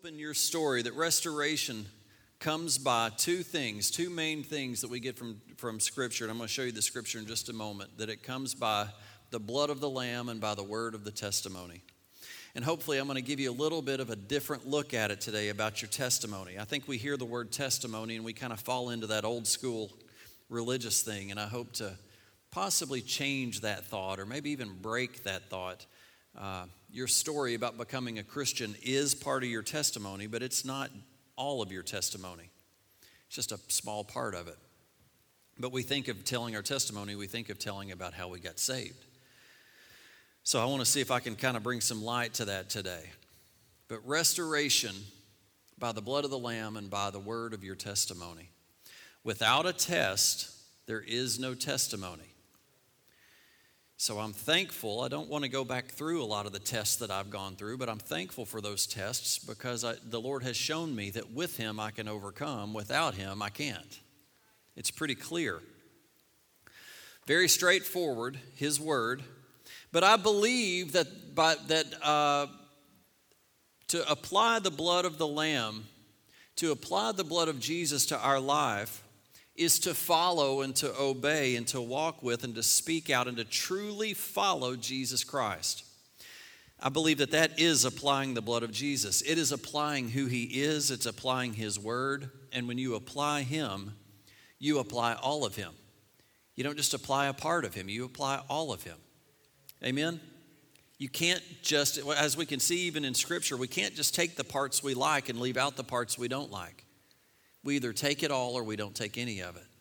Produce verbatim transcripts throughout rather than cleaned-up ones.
hope in your story that restoration comes by two things, two main things that we get from, from Scripture. And I'm going to show you the Scripture in just a moment. That it comes by the blood of the Lamb and by the word of the testimony. And hopefully I'm going to give you a little bit of a different look at it today about your testimony. I think we hear the word testimony and we kind of fall into that old school religious thing. And I hope to possibly change that thought or maybe even break that thought. Uh, your story about becoming a Christian is part of your testimony, but it's not all of your testimony. It's just a small part of it. But we think of telling our testimony, we think of telling about how we got saved. So I want to see if I can kind of bring some light to that today. But restoration by the blood of the Lamb and by the word of your testimony. Without a test, there is no testimony. So I'm thankful. I don't want to go back through a lot of the tests that I've gone through, but I'm thankful for those tests because I, the Lord has shown me that with Him I can overcome. Without Him, I can't. It's pretty clear. Very straightforward, His word. But I believe that by that uh, to apply the blood of the Lamb, to apply the blood of Jesus to our life, is to follow and to obey and to walk with and to speak out and to truly follow Jesus Christ. I believe that that is applying the blood of Jesus. It is applying who He is. It's applying His word. And when you apply Him, you apply all of Him. You don't just apply a part of Him. You apply all of Him. Amen? You can't just, as we can see even in Scripture, we can't just take the parts we like and leave out the parts we don't like. We either take it all or we don't take any of it.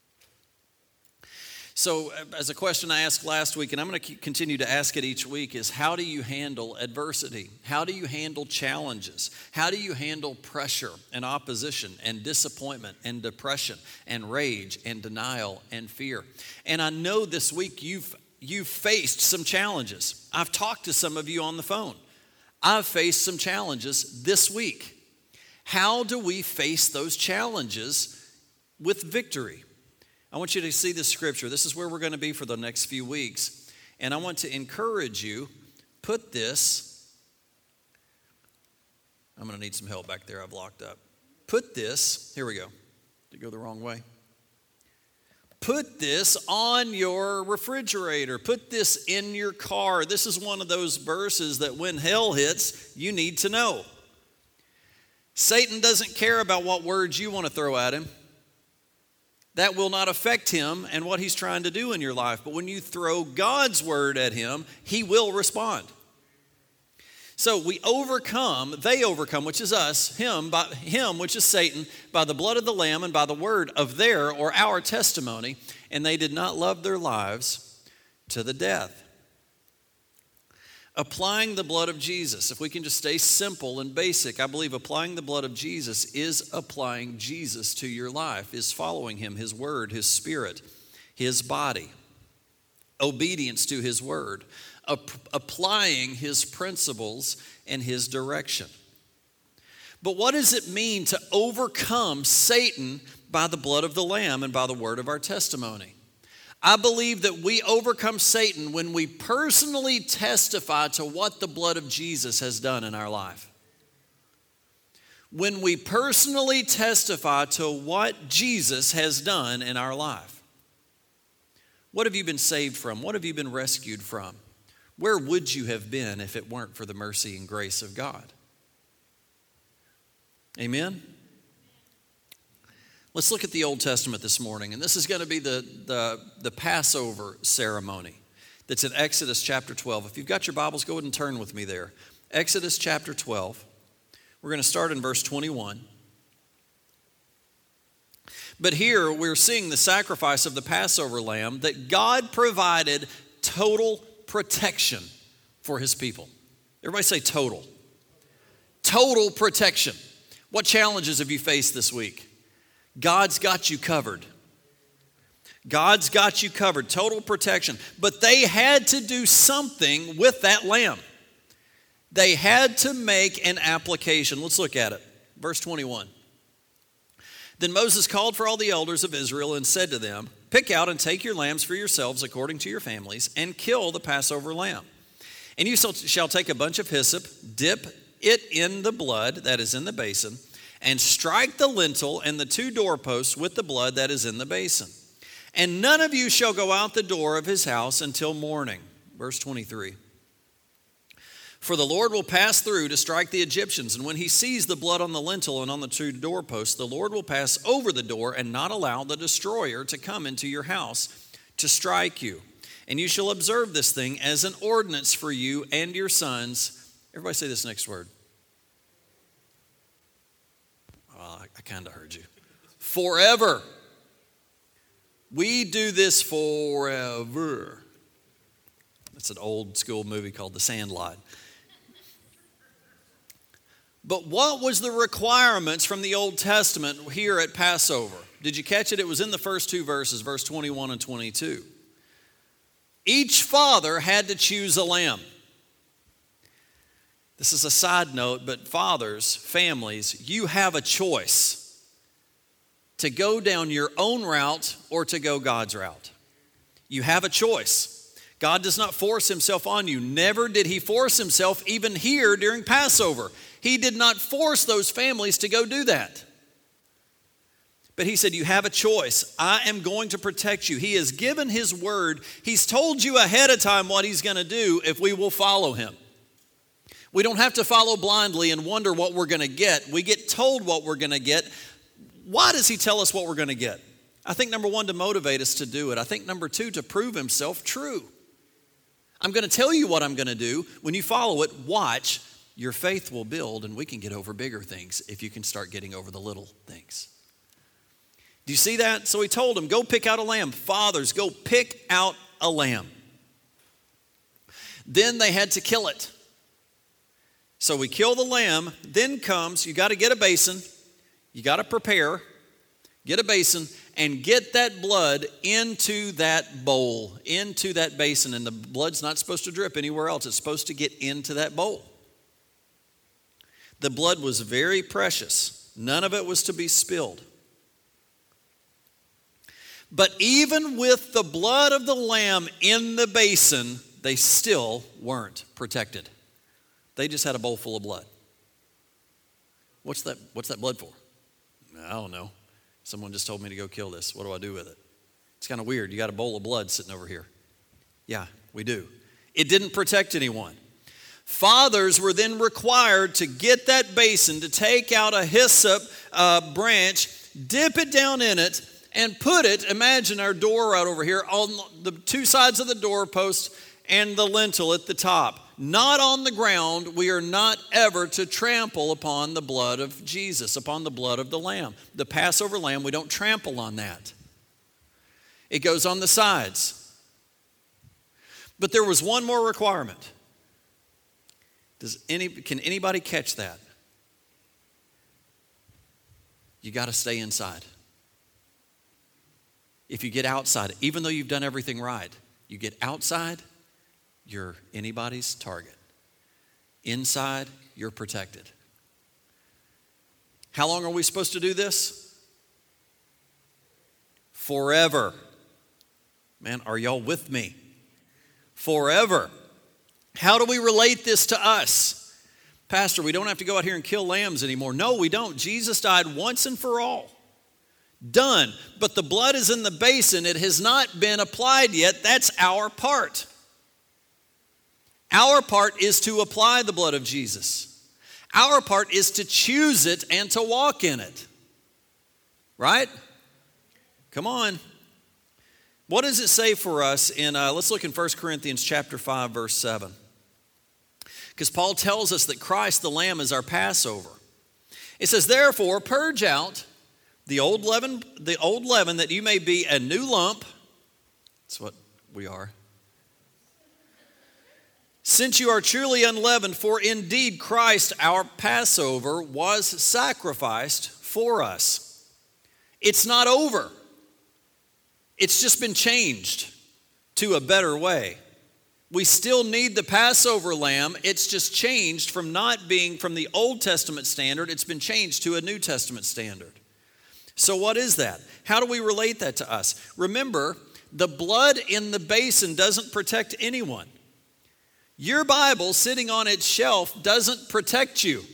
So as a question I asked last week, and I'm going to continue to ask it each week, is how do you handle adversity? How do you handle challenges? How do you handle pressure and opposition and disappointment and depression and rage and denial and fear? And I know this week you've You've faced some challenges. I've talked to some of you on the phone. I've faced some challenges this week. How do we face those challenges with victory? I want you to see this scripture. This is where we're going to be for the next few weeks. And I want to encourage you, put this, I'm going to need some help back there. I've locked up. Put this, here we go. Did it go the wrong way? Put this on your refrigerator. Put this in your car. This is one of those verses that when hell hits, you need to know. Satan doesn't care about what words you want to throw at him. That will not affect him and what he's trying to do in your life. But when you throw God's word at him, he will respond. So we overcome, they overcome, which is us, him, by him, which is Satan, by the blood of the Lamb and by the word of their or our testimony, and they did not love their lives to the death. Applying the blood of Jesus, if we can just stay simple and basic, I believe applying the blood of Jesus is applying Jesus to your life, is following Him, His word, His spirit, His body, obedience to His word. Applying His principles and His direction. But what does it mean to overcome Satan by the blood of the Lamb and by the word of our testimony? I believe that we overcome Satan when we personally testify to what the blood of Jesus has done in our life. When we personally testify to what Jesus has done in our life. What have you been saved from? What have you been rescued from? Where would you have been if it weren't for the mercy and grace of God? Amen? Let's look at the Old Testament this morning. And this is going to be the, the, the Passover ceremony that's in Exodus chapter twelve. If you've got your Bibles, go ahead and turn with me there. Exodus chapter twelve. We're going to start in verse twenty-one. But here we're seeing the sacrifice of the Passover lamb that God provided total protection for His people. Everybody say total. Total protection. What challenges have you faced this week? God's got you covered. God's got you covered. Total protection. But they had to do something with that lamb. They had to make an application. Let's look at it. Verse twenty-one. Then Moses called for all the elders of Israel and said to them, pick out and take your lambs for yourselves according to your families and kill the Passover lamb. And you shall take a bunch of hyssop, dip it in the blood that is in the basin, and strike the lintel and the two doorposts with the blood that is in the basin. And none of you shall go out the door of his house until morning. Verse twenty-three. For the Lord will pass through to strike the Egyptians, and when he sees the blood on the lintel and on the two doorposts, the Lord will pass over the door and not allow the destroyer to come into your house to strike you. And you shall observe this thing as an ordinance for you and your sons. Everybody say this next word. Oh, I, I kind of heard you. Forever. We do this forever. That's an old school movie called The Sandlot. But what was the requirements from the Old Testament here at Passover? Did you catch it? It was in the first two verses, verse twenty-one and twenty-two. Each father had to choose a lamb. This is a side note, but fathers, families, you have a choice to go down your own route or to go God's route. You have a choice. God does not force himself on you. Never did he force himself even here during Passover. He did not force those families to go do that. But he said, you have a choice. I am going to protect you. He has given his word. He's told you ahead of time what he's going to do if we will follow him. We don't have to follow blindly and wonder what we're going to get. We get told what we're going to get. Why does he tell us what we're going to get? I think number one, to motivate us to do it. I think number two, to prove himself true. I'm going to tell you what I'm going to do. When you follow it, watch. Your faith will build, and we can get over bigger things if you can start getting over the little things. Do you see that? So he told him, go pick out a lamb. Fathers, go pick out a lamb. Then they had to kill it. So we kill the lamb. Then comes, you got to get a basin. You got to prepare. Get a basin and get that blood into that bowl, into that basin. And the blood's not supposed to drip anywhere else. It's supposed to get into that bowl. The blood was very precious. None of it was to be spilled. But even with the blood of the lamb in the basin, they still weren't protected. They just had a bowl full of blood. What's that, what's that blood for? I don't know. Someone just told me to go kill this. What do I do with it? It's kind of weird. You got a bowl of blood sitting over here. Yeah, we do. It didn't protect anyone. Fathers were then required to get that basin, to take out a hyssop uh, branch, dip it down in it, and put it, imagine our door right over here, on the two sides of the doorpost and the lintel at the top. Not on the ground. We are not ever to trample upon the blood of Jesus, upon the blood of the lamb. The Passover lamb, we don't trample on that. It goes on the sides. But there was one more requirement. Does any, can anybody catch that? You got to stay inside. If you get outside, even though you've done everything right, you get outside, you're anybody's target. Inside, you're protected. How long are we supposed to do this? Forever. Man, are y'all with me? Forever. How do we relate this to us? Pastor, we don't have to go out here and kill lambs anymore. No, we don't. Jesus died once and for all. Done. But the blood is in the basin. It has not been applied yet. That's our part. Our part is to apply the blood of Jesus. Our part is to choose it and to walk in it. Right? Come on. What does it say for us in, uh, let's look in First Corinthians chapter five, verse seven. Because Paul tells us that Christ the Lamb is our Passover. It says, therefore, purge out the old leaven, the old leaven that you may be a new lump. That's what we are. Since you are truly unleavened, for indeed Christ, our Passover, was sacrificed for us. It's not over. It's just been changed to a better way. We still need the Passover lamb. It's just changed from not being from the Old Testament standard. It's been changed to a New Testament standard. So what is that? How do we relate that to us? Remember, the blood in the basin doesn't protect anyone. Your Bible sitting on its shelf doesn't protect you.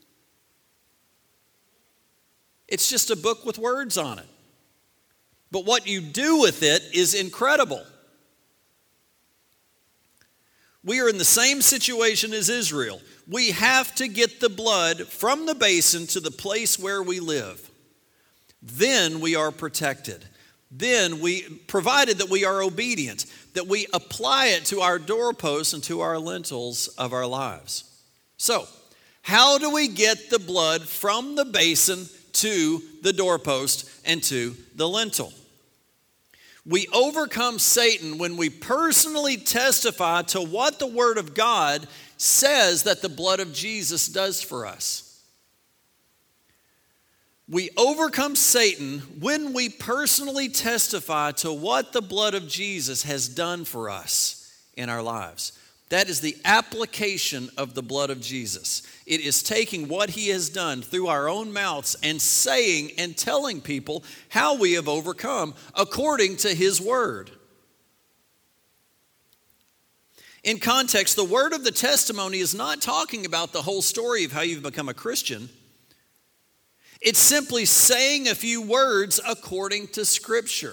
It's just a book with words on it. But what you do with it is incredible. We are in the same situation as Israel. We have to get the blood from the basin to the place where we live. Then we are protected. Then we, provided that we are obedient, that we apply it to our doorposts and to our lintels of our lives. So, how do we get the blood from the basin to the doorpost and to the lintel? We overcome Satan when we personally testify to what the Word of God says that the blood of Jesus does for us. We overcome Satan when we personally testify to what the blood of Jesus has done for us in our lives. That is the application of the blood of Jesus. It is taking what he has done through our own mouths and saying and telling people how we have overcome according to his word. In context, the word of the testimony is not talking about the whole story of how you've become a Christian. It's simply saying a few words according to Scripture.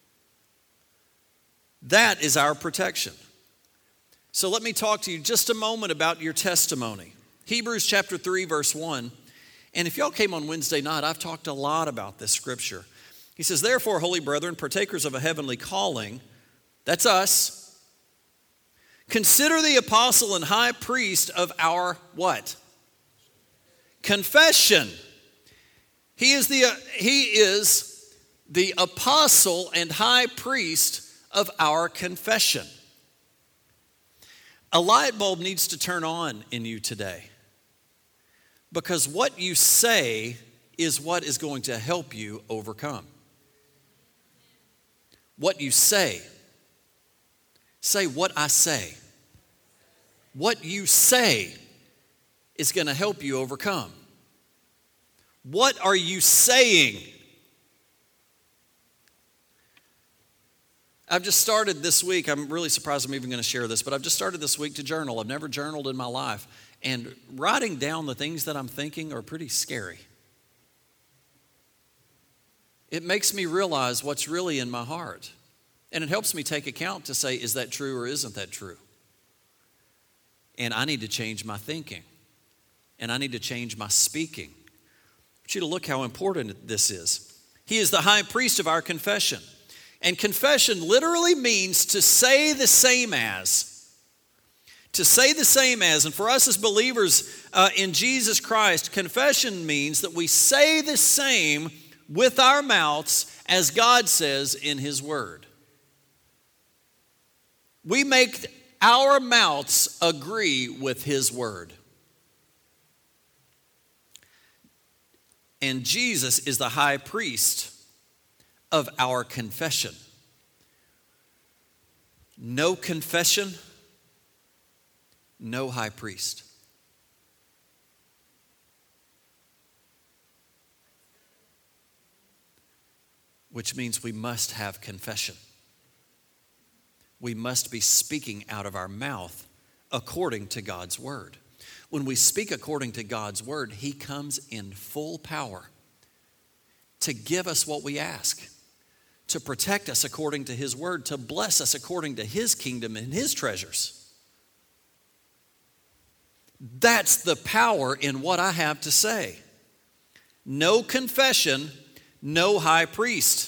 That is our protection. So let me talk to you just a moment about your testimony. Hebrews chapter three, verse one. And if y'all came on Wednesday night, I've talked a lot about this scripture. He says, therefore, holy brethren, partakers of a heavenly calling, that's us, consider the apostle and high priest of our what? Confession. He is the, uh, he is the apostle and high priest of our confession. A light bulb needs to turn on in you today, because what you say is what is going to help you overcome. What you say. Say what I say. What you say is going to help you overcome. What are you saying? I've just started this week, I'm really surprised I'm even going to share this, but I've just started this week to journal. I've never journaled in my life. And writing down the things that I'm thinking are pretty scary. It makes me realize what's really in my heart. And it helps me take account to say, is that true or isn't that true? And I need to change my thinking. And I need to change my speaking. I want you to look how important this is. He is the high priest of our confession. And confession literally means to say the same as. To say the same as. And for us as believers uh, in Jesus Christ, confession means that we say the same with our mouths as God says in his word. We make our mouths agree with his word. And Jesus is the high priest of our confession. No confession, no high priest. Which means we must have confession. We must be speaking out of our mouth according to God's word. When we speak according to God's word, he comes in full power to give us what we ask, to protect us according to his word, to bless us according to his kingdom and his treasures. That's the power in what I have to say. No confession, no high priest.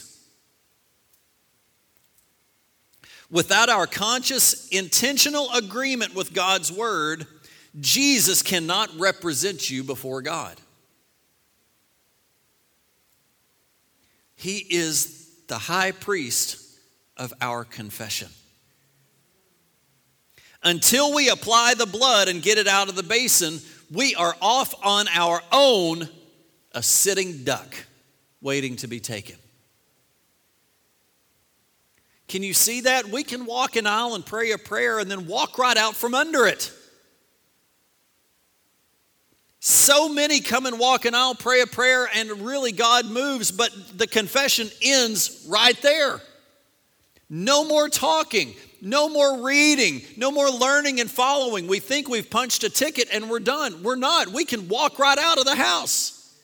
Without our conscious, intentional agreement with God's word, Jesus cannot represent you before God. He is the high priest of our confession. Until we apply the blood and get it out of the basin, we are off on our own, a sitting duck waiting to be taken. Can you see that? We can walk an aisle and pray a prayer and then walk right out from under it. So many come and walk an aisle, pray a prayer, and really God moves, but the confession ends right there. No more talking. No more reading, no more learning and following. We think we've punched a ticket and we're done. We're not. We can walk right out of the house.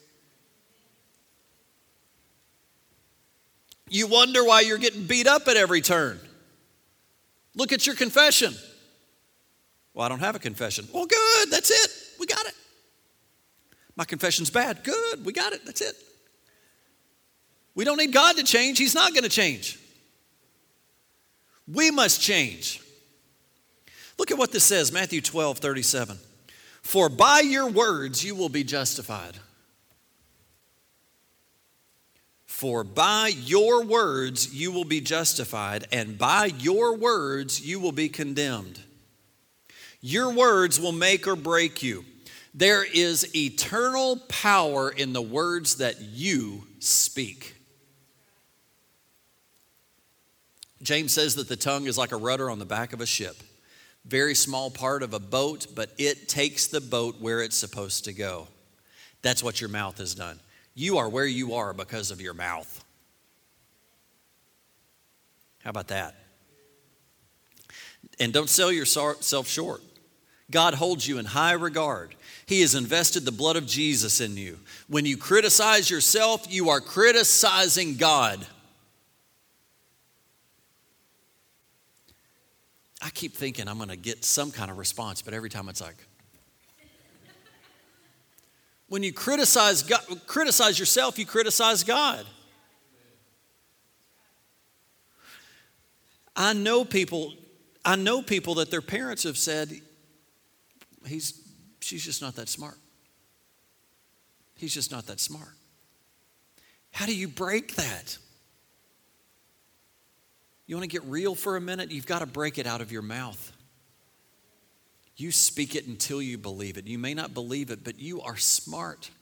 You wonder why you're getting beat up at every turn. Look at your confession. Well, I don't have a confession. Well, good, that's it. We got it. My confession's bad. Good, we got it. That's it. We don't need God to change. He's not going to change. We must change. Look at what this says, Matthew twelve, thirty-seven. For by your words you will be justified. For by your words you will be justified, and by your words you will be condemned. Your words will make or break you. There is eternal power in the words that you speak. James says that the tongue is like a rudder on the back of a ship. Very small part of a boat, but it takes the boat where it's supposed to go. That's what your mouth has done. You are where you are because of your mouth. How about that? And don't sell yourself short. God holds you in high regard. He has invested the blood of Jesus in you. When you criticize yourself, you are criticizing God. I keep thinking I'm going to get some kind of response, but every time it's like, when you criticize God, criticize yourself, you criticize God. I know people, I know people that their parents have said, He's, she's just not that smart. He's just not that smart. How do you break that? You want to get real for a minute? You've got to break it out of your mouth. You speak it until you believe it. You may not believe it, but you are smart.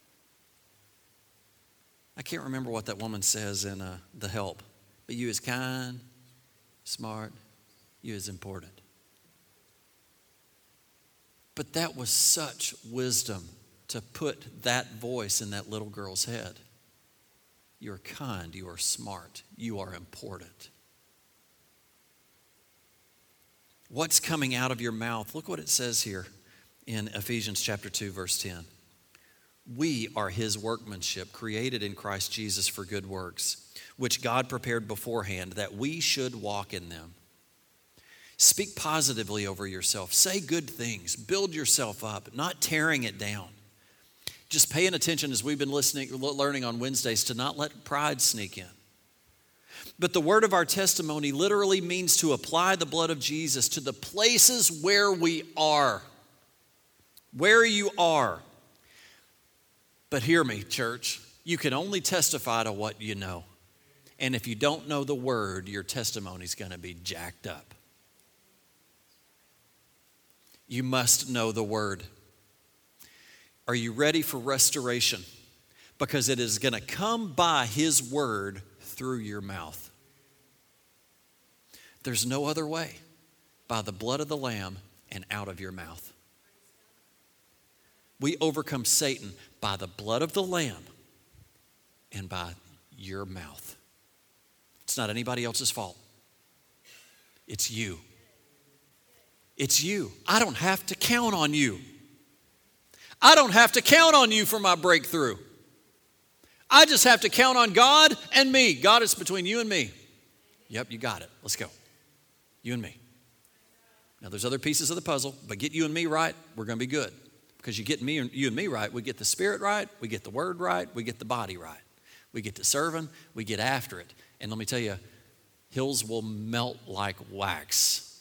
I can't remember what that woman says in uh, The Help, but you is kind, smart, you is important. But that was such wisdom to put that voice in that little girl's head. You're kind, you are smart, you are important. What's coming out of your mouth? Look what it says here in Ephesians chapter two, verse ten. We are His workmanship, created in Christ Jesus for good works, which God prepared beforehand that we should walk in them. Speak positively over yourself. Say good things. Build yourself up, not tearing it down. Just paying attention as we've been listening, learning on Wednesdays to not let pride sneak in. But the word of our testimony literally means to apply the blood of Jesus to the places where we are. Where you are. But hear me, church. You can only testify to what you know. And if you don't know the word, your testimony is going to be jacked up. You must know the word. Are you ready for restoration? Because it is going to come by His word through your mouth. There's no other way. By the blood of the Lamb and out of your mouth. We overcome Satan by the blood of the Lamb and by your mouth. It's not anybody else's fault. It's you. It's you. I don't have to count on you. I don't have to count on you for my breakthrough. I just have to count on God and me. God, it's between you and me. Yep, you got it. Let's go. You and me. Now, there's other pieces of the puzzle, but get you and me right, we're going to be good. Because you get me and you and me right, we get the spirit right, we get the word right, we get the body right. We get to serving, we get after it. And let me tell you, hills will melt like wax.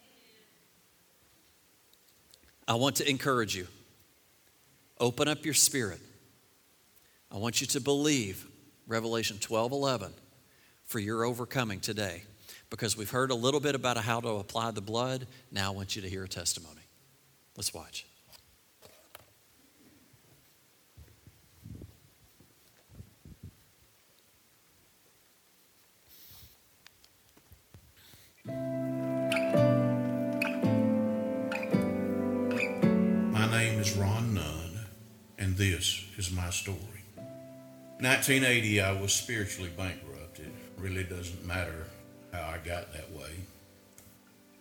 I want to encourage you. Open up your spirit. I want you to believe Revelation twelve eleven for your overcoming today. Because we've heard a little bit about how to apply the blood. Now I want you to hear a testimony. Let's watch. My name is Ron Nunn, and this is my story. nineteen eighty, I was spiritually bankrupted. Really doesn't matter how I got that way.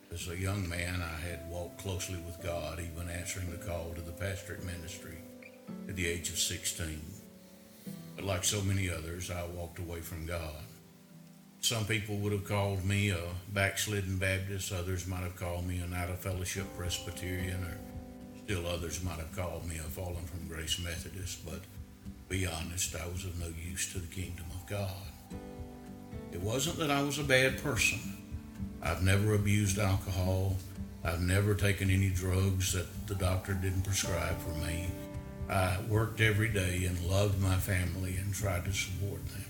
As a young man, I had walked closely with God, even answering the call to the pastorate ministry at the age of sixteen. But like so many others, I walked away from God. Some people would have called me a backslidden Baptist. Others might have called me an out-of-fellowship Presbyterian, or still others might have called me a fallen from grace Methodist. But to be honest, I was of no use to the kingdom of God. It wasn't that I was a bad person. I've never abused alcohol. I've never taken any drugs that the doctor didn't prescribe for me. I worked every day and loved my family and tried to support them.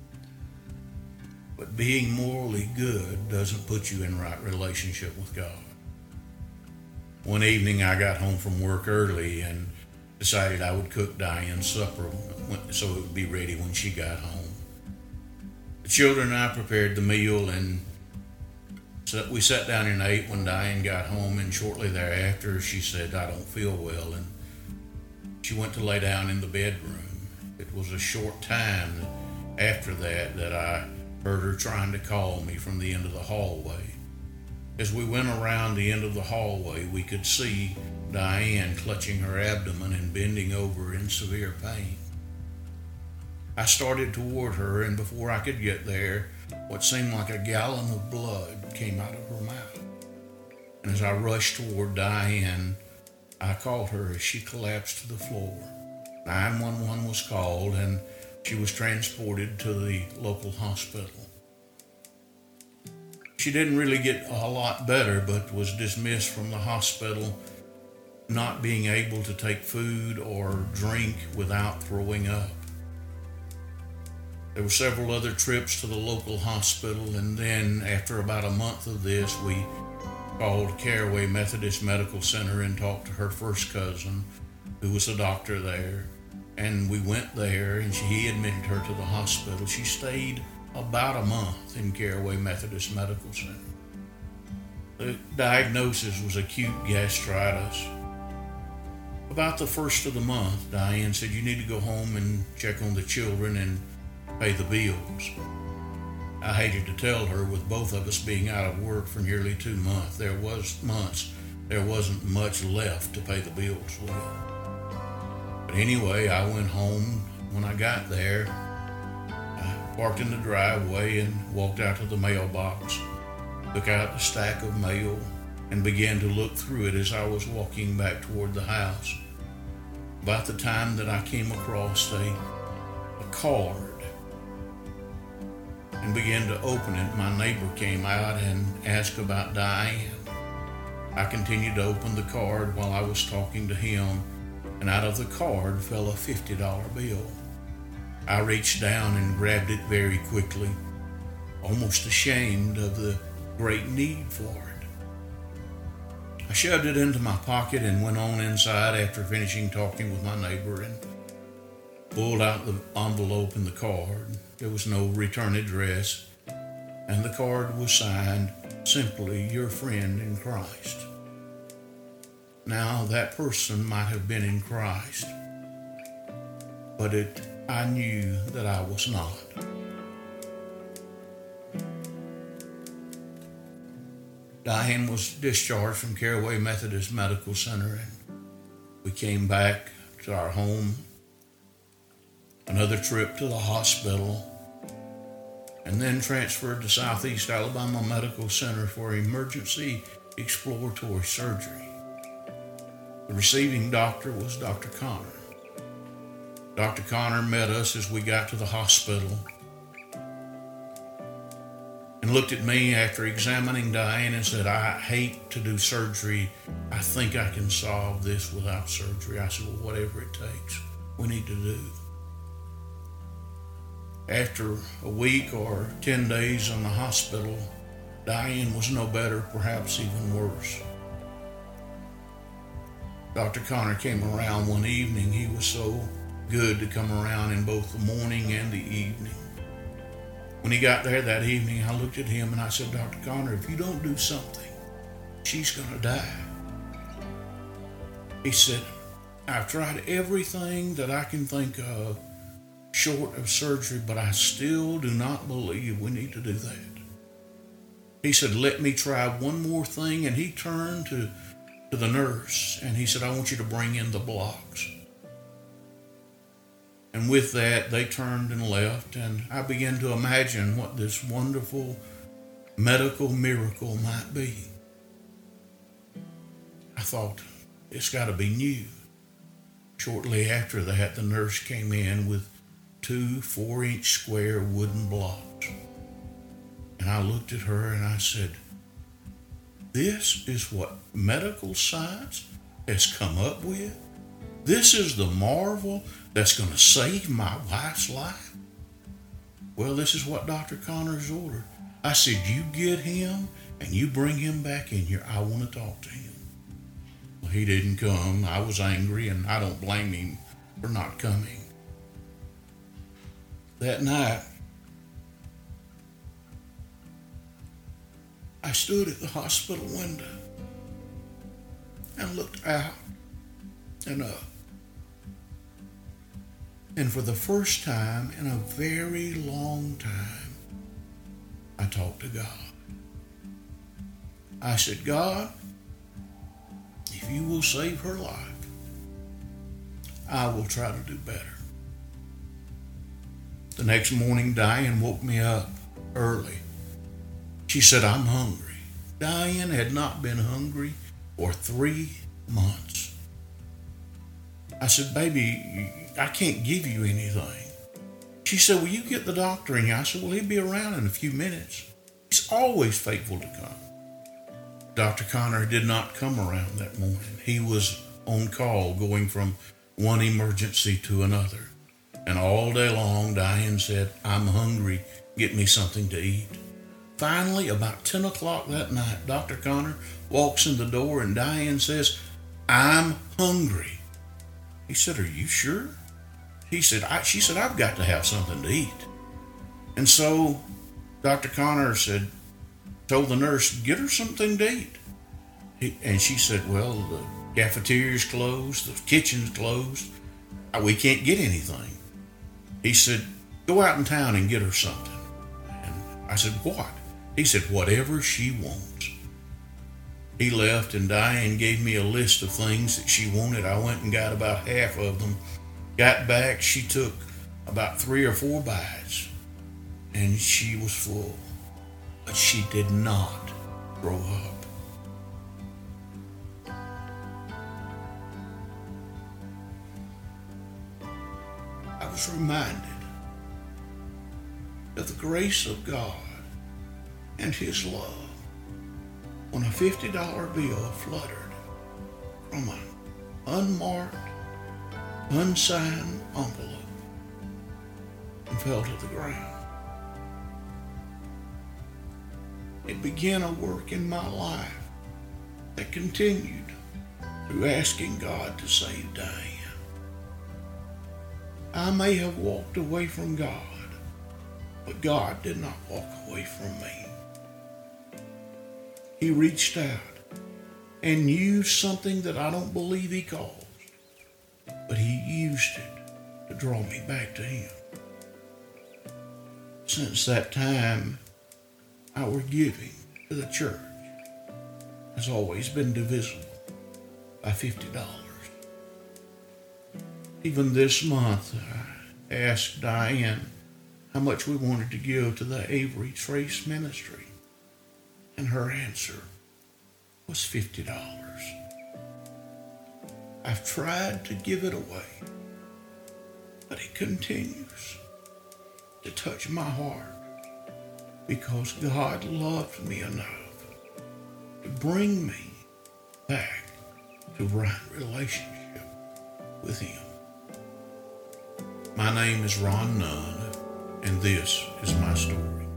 But being morally good doesn't put you in right relationship with God. One evening I got home from work early and decided I would cook Diane's supper so it would be ready when she got home. The children and I prepared the meal, and so we sat down and ate when Diane got home, and shortly thereafter she said, "I don't feel well," and she went to lay down in the bedroom. It was a short time after that that I heard her trying to call me from the end of the hallway. As we went around the end of the hallway, we could see Diane clutching her abdomen and bending over in severe pain. I started toward her, and before I could get there, what seemed like a gallon of blood came out of her mouth. And as I rushed toward Diane, I called her as she collapsed to the floor. nine one one was called, and she was transported to the local hospital. She didn't really get a lot better, but was dismissed from the hospital, not being able to take food or drink without throwing up. There were several other trips to the local hospital, and then after about a month of this, we called Caraway Methodist Medical Center and talked to her first cousin, who was a doctor there. And we went there, and she, he admitted her to the hospital. She stayed about a month in Caraway Methodist Medical Center. The diagnosis was acute gastritis. About the first of the month, Diane said, "You need to go home and check on the children and pay the bills." I hated to tell her, with both of us being out of work for nearly two months, there was months, there wasn't much left to pay the bills with. But anyway, I went home. When I got there, I parked in the driveway and walked out to the mailbox, took out the stack of mail, and began to look through it as I was walking back toward the house. About the time that I came across a, a card and began to open it, my neighbor came out and asked about Diane. I continued to open the card while I was talking to him, and out of the card fell a fifty dollar bill. I reached down and grabbed it very quickly, almost ashamed of the great need for it. I shoved it into my pocket and went on inside after finishing talking with my neighbor and pulled out the envelope and the card. There was no return address, and the card was signed simply, "Your friend in Christ." Now, that person might have been in Christ, but it, I knew that I was not. Diane was discharged from Caraway Methodist Medical Center, and we came back to our home. Another trip to the hospital, and then transferred to Southeast Alabama Medical Center for emergency exploratory surgery. The receiving doctor was Doctor Connor. Doctor Connor met us as we got to the hospital and looked at me after examining Diane and said, "I hate to do surgery. I think I can solve this without surgery." I said, "Well, whatever it takes, we need to do." After a week or ten days in the hospital, Diane was no better, perhaps even worse. Doctor Connor came around one evening. He was so good to come around in both the morning and the evening. When he got there that evening, I looked at him and I said, "Doctor Connor, if you don't do something, she's going to die." He said, "I've tried everything that I can think of short of surgery, but I still do not believe we need to do that." He said, let me try one more thing. And he turned to, to the nurse and he said, I want you to bring in the blocks. And with that, they turned and left. And I began to imagine what this wonderful medical miracle might be. I thought, it's got to be new. Shortly after that, the nurse came in with two four-inch square wooden blocks. And I looked at her and I said, this is what medical science has come up with? This is the marvel that's going to save my wife's life? Well, this is what Doctor Connors ordered. I said, you get him and you bring him back in here. I want to talk to him. Well, he didn't come. I was angry, and I don't blame him for not coming. That night, I stood at the hospital window and looked out and up. And for the first time in a very long time, I talked to God. I said, God, if you will save her life, I will try to do better. The next morning, Diane woke me up early. She said, I'm hungry. Diane had not been hungry for three months. I said, baby, I can't give you anything. She said, will you get the doctor in here? I said, well, he'll be around in a few minutes. He's always faithful to come. Doctor Connor did not come around that morning. He was on call going from one emergency to another. And all day long, Diane said, I'm hungry. Get me something to eat. Finally, about ten o'clock that night, Doctor Connor walks in the door and Diane says, I'm hungry. He said, are you sure? He said, I, she said, I've got to have something to eat. And so Doctor Connor said, told the nurse, get her something to eat. He, and she said, well, the cafeteria's closed, the kitchen's closed. We can't get anything. He said, go out in town and get her something. And I said, what? He said, whatever she wants. He left and Diane gave me a list of things that she wanted. I went and got about half of them. Got back, she took about three or four bites and she was full. But she did not throw up. I was reminded of the grace of God and His love when a fifty dollar bill fluttered from an unmarked, unsigned envelope and fell to the ground. It began a work in my life that continued through asking God to save Diane. I may have walked away from God, but God did not walk away from me. He reached out and used something that I don't believe He caused, but He used it to draw me back to Him. Since that time, our giving to the church has always been divisible by fifty dollars. Even this month, I asked Diane how much we wanted to give to the Avery Trace Ministry, and her answer was fifty dollars. I've tried to give it away, but it continues to touch my heart because God loved me enough to bring me back to right relationship with Him. My name is Ron Nunn, and this is my story.